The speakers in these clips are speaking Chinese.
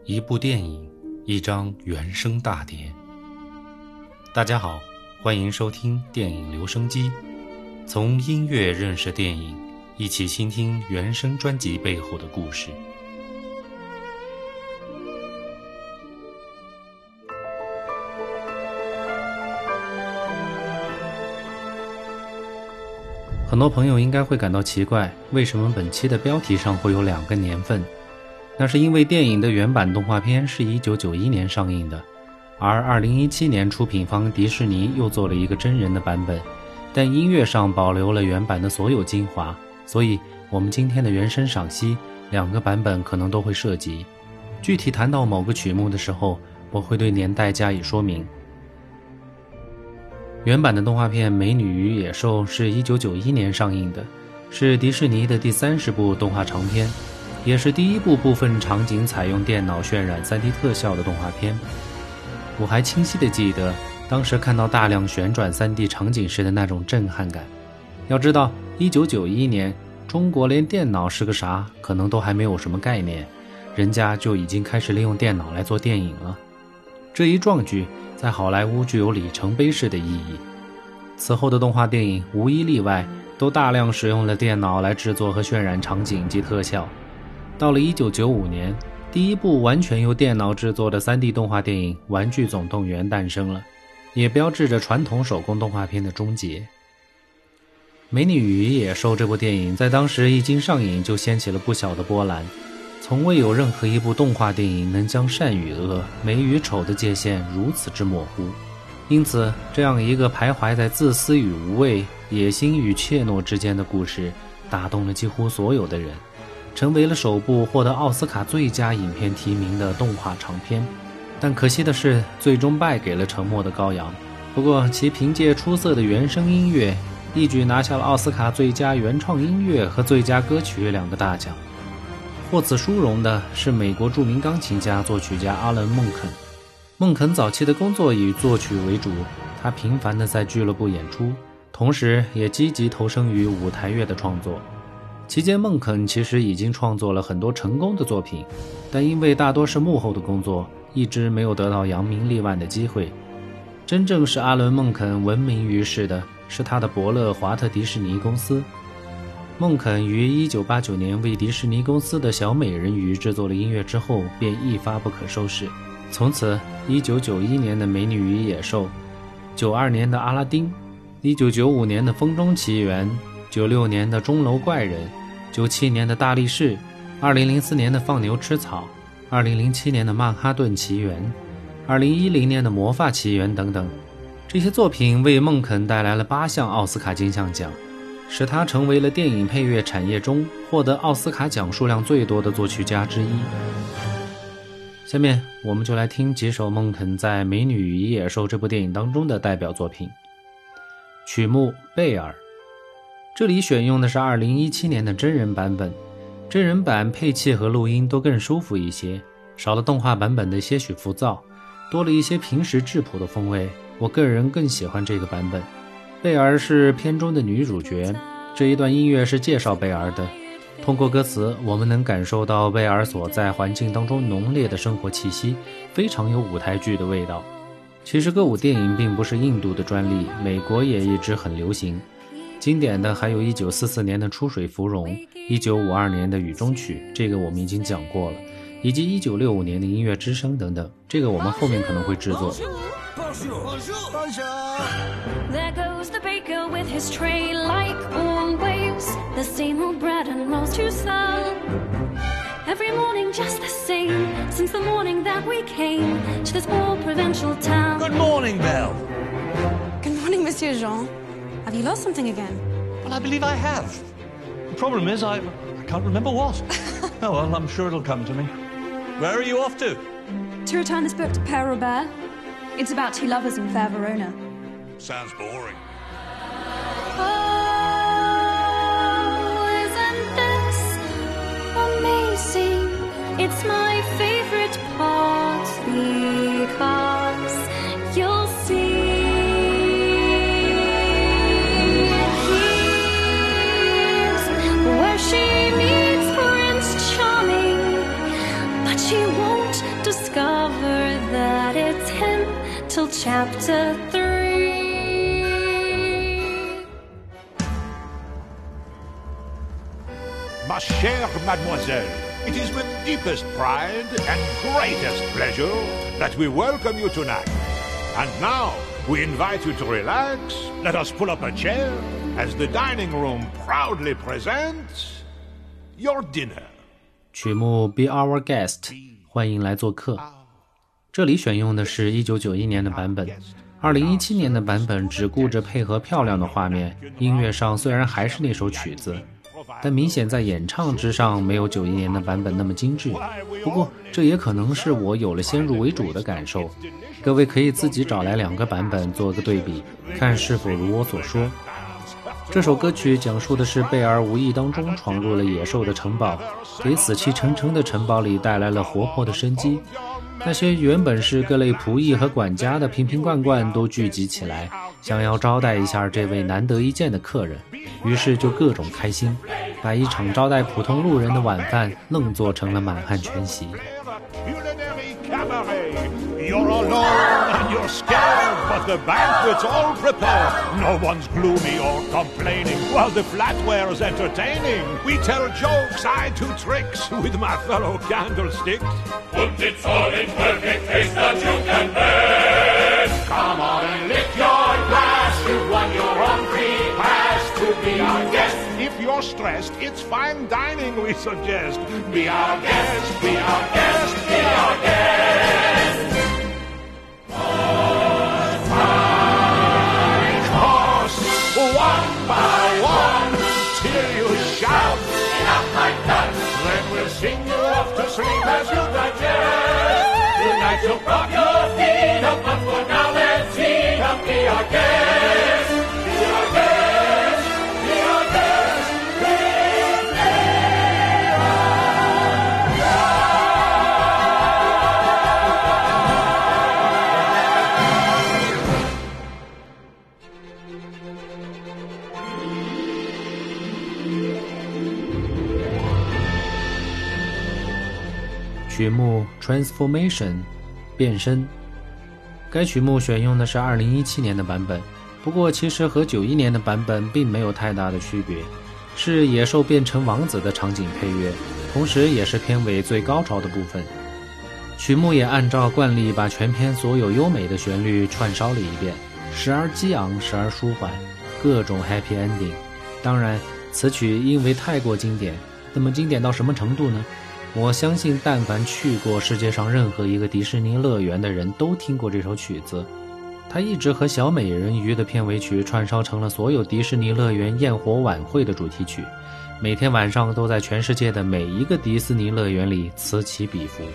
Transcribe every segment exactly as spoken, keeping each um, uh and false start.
一部电影，一张原声大碟。大家好，欢迎收听电影留声机，从音乐认识电影，一起倾听原声专辑背后的故事。很多朋友应该会感到奇怪，为什么本期的标题上会有两个年份？那是因为电影的原版动画片是一九九一年上映的，而二零一七年出品方迪士尼又做了一个真人的版本，但音乐上保留了原版的所有精华，所以我们今天的原声赏析两个版本可能都会涉及。具体谈到某个曲目的时候，我会对年代加以说明。原版的动画片《美女与野兽》是一九九一年上映的，是迪士尼的第三十部动画长片，也是第一部部分场景采用电脑渲染 三 D 特效的动画片。我还清晰地记得当时看到大量旋转 三 D 场景时的那种震撼感。要知道一九九一年中国连电脑是个啥可能都还没有什么概念，人家就已经开始利用电脑来做电影了。这一壮举在好莱坞具有里程碑式的意义。此后的动画电影无一例外都大量使用了电脑来制作和渲染场景及特效。到了一九九五年，第一部完全由电脑制作的 三 D 动画电影《玩具总动员》诞生了，也标志着传统手工动画片的终结。《美女与野兽》这部电影在当时一经上映就掀起了不小的波澜，从未有任何一部动画电影能将善与恶、美与丑的界限如此之模糊。因此，这样一个徘徊在自私与无畏、野心与怯懦之间的故事，打动了几乎所有的人，成为了首部获得奥斯卡最佳影片提名的动画长片。但可惜的是，最终败给了《沉默的羔羊》。不过，其凭借出色的原声音乐，一举拿下了奥斯卡最佳原创音乐和最佳歌曲两个大奖。获此殊荣的是美国著名钢琴家、作曲家阿伦·孟肯。孟肯早期的工作以作曲为主，他频繁地在俱乐部演出，同时也积极投身于舞台乐的创作。期间，孟肯其实已经创作了很多成功的作品，但因为大多是幕后的工作，一直没有得到扬名立万的机会。真正使阿伦·孟肯闻名于世的是他的伯乐华特迪士尼公司。孟肯于一九八九年为迪士尼公司的小美人鱼制作了音乐之后，便一发不可收拾。从此一九九一年的《美女与野兽》，九二年的《阿拉丁》，一九九五年的《风中奇缘》，九六年的《钟楼怪人》，九七年的《大力士》，二零零四年的《放牛吃草》，二零零七年的《曼哈顿奇缘》，二零一零年的《魔发奇缘》等等。这些作品为孟肯带来了八项奥斯卡金像奖，使他成为了电影配乐产业中获得奥斯卡奖数量最多的作曲家之一。下面我们就来听几首孟肯在《美女与野兽》这部电影当中的代表作品。曲目《贝尔》，这里选用的是二零一七年的真人版本，真人版配器和录音都更舒服一些，少了动画版本的些许浮躁，多了一些平实质朴的风味，我个人更喜欢这个版本。贝尔是片中的女主角，这一段音乐是介绍贝尔的。通过歌词，我们能感受到贝尔所在环境当中浓烈的生活气息，非常有舞台剧的味道。其实歌舞电影并不是印度的专利，美国也一直很流行。经典的还有一九四四年的《出水芙蓉》，一九五二年的《雨中曲》，这个我们已经讲过了，以及一九六五年的《音乐之声》等等，这个我们后面可能会制作。 There goes the baker with his tray like always, the same old bread and rolls to sell. Every morning just the same, since the morning that we came to this poor provincial town. Good morning, Belle. Good morning, Monsieur Jean. Have you lost something again? Well, I believe I have. The problem is I, I can't remember what. Oh, well, I'm sure it'll come to me. Where are you off to? To return this book to Père Robert. It's about two lovers in fair Verona. Sounds boring. Oh, isn't this amazing? It's my favorite part because you'll see. Here's where she meets Prince Charming, but she won't till chapter three. Ma chère mademoiselle, it is with deepest pride and greatest pleasure that we welcome you tonight. And now, we invite you to relax. Let us pull up a chair as the dining room proudly presents your dinner. 曲目 Be Our Guest， 欢迎来做客。这里选用的是一九九一年的版本，二零一七年的版本只顾着配合漂亮的画面，音乐上虽然还是那首曲子，但明显在演唱之上没有九一年的版本那么精致。不过这也可能是我有了先入为主的感受，各位可以自己找来两个版本做个对比，看是否如我所说。这首歌曲讲述的是贝尔无意当中闯入了野兽的城堡，给死气沉沉的城堡里带来了活泼的生机。那些原本是各类仆役和管家的瓶瓶罐罐都聚集起来，想要招待一下这位难得一见的客人，于是就各种开心，把一场招待普通路人的晚饭愣做成了满汉全席。 You're alone and you're scared, but the banquet's all prepared. No one's gloomy or complaining, while the flatware's entertaining. We tell jokes, I do tricks with my fellow candlesticks. Put it all in perfect taste that you can bear. Come on and lift your glass. You've won your own free pass to be our guest. If you're stressed, it's fine dining we suggest. Be our guest, be our guest, be our guest. One by one, till you shout, enough like that. Then we'll sing you off to sleep as you digest. Tonight you'll prop your feet up, but for now let's see. Come be our guest, be our guest, be our guest, please be our guest. 曲目 Transformation 变身，该曲目选用的是二零一七年的版本，不过其实和九一年的版本并没有太大的区别，是野兽变成王子的场景配乐，同时也是片尾最高潮的部分。曲目也按照惯例把全片所有优美的旋律串烧了一遍，时而激昂，时而舒缓，各种 happy ending。 当然此曲因为太过经典，那么经典到什么程度呢？我相信但凡去过世界上任何一个迪士尼乐园的人都听过这首曲子。它一直和小美人鱼的片尾曲串烧成了所有迪士尼乐园焰火晚会的主题曲，每天晚上都在全世界的每一个迪士尼乐园里此起彼伏。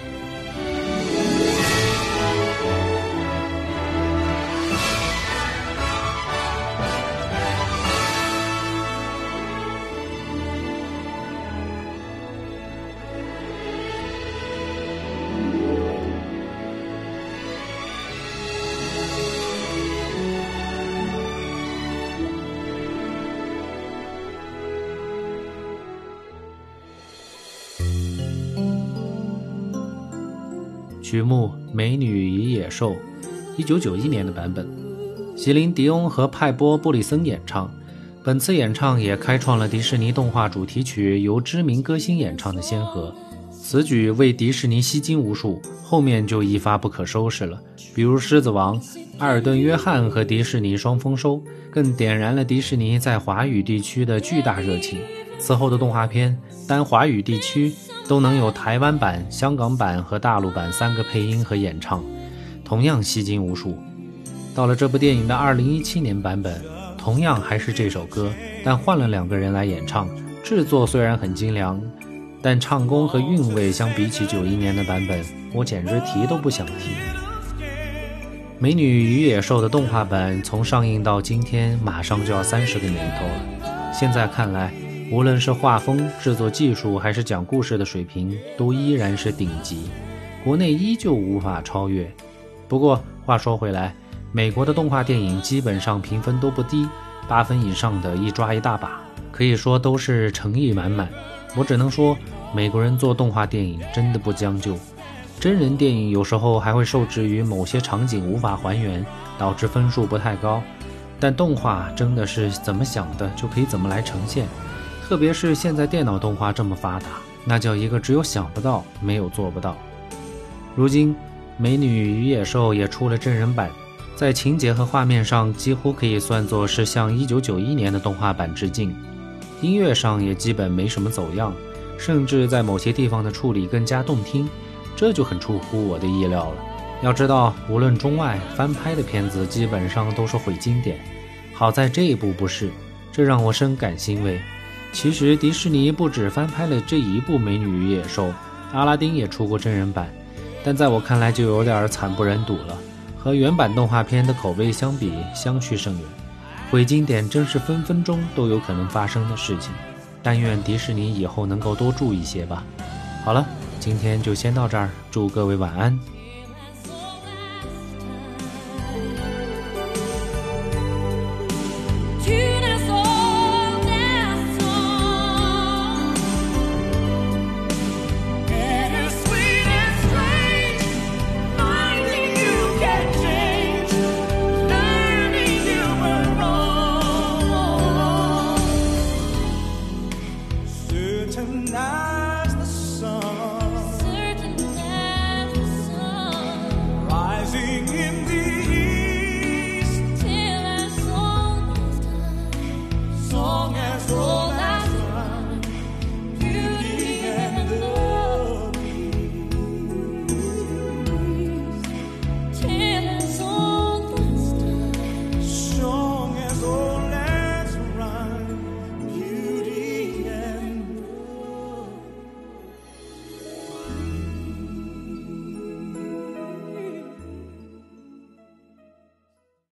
曲目《美女与野兽》，一九九一年的版本，席琳·迪翁和派波·布里森演唱。本次演唱也开创了迪士尼动画主题曲由知名歌星演唱的先河。此举为迪士尼吸金无数，后面就一发不可收拾了，比如《狮子王》、埃尔顿·约翰和迪士尼双丰收，更点燃了迪士尼在华语地区的巨大热情。此后的动画片单华语地区都能有台湾版、香港版和大陆版三个配音和演唱，同样吸金无数。到了这部电影的二零一七年版本，同样还是这首歌，但换了两个人来演唱。制作虽然很精良，但唱功和韵味相比起九一年的版本，我简直提都不想提。美女与野兽的动画版从上映到今天马上就要三十个年头了，现在看来无论是画风、制作技术还是讲故事的水平都依然是顶级，国内依旧无法超越。不过话说回来，美国的动画电影基本上评分都不低，八分以上的一抓一大把，可以说都是诚意满满。我只能说美国人做动画电影真的不将就， 真人电影有时候还会受制于某些场景无法还原，导致分数不太高。但动画真的是怎么想的就可以怎么来呈现，特别是现在电脑动画这么发达，那叫一个只有想不到，没有做不到。如今《美女与野兽》也出了真人版，在情节和画面上几乎可以算作是向一九九一年的动画版致敬，音乐上也基本没什么走样，甚至在某些地方的处理更加动听，这就很出乎我的意料了。要知道，无论中外翻拍的片子基本上都是毁经典，好在这一部不是，这让我深感欣慰。其实迪士尼不止翻拍了这一部《美女与野兽》，阿拉丁也出过真人版，但在我看来就有点惨不忍睹了，和原版动画片的口碑相比相去甚远。毁经典真是分分钟都有可能发生的事情，但愿迪士尼以后能够多注意些吧。好了，今天就先到这儿，祝各位晚安。 Tonight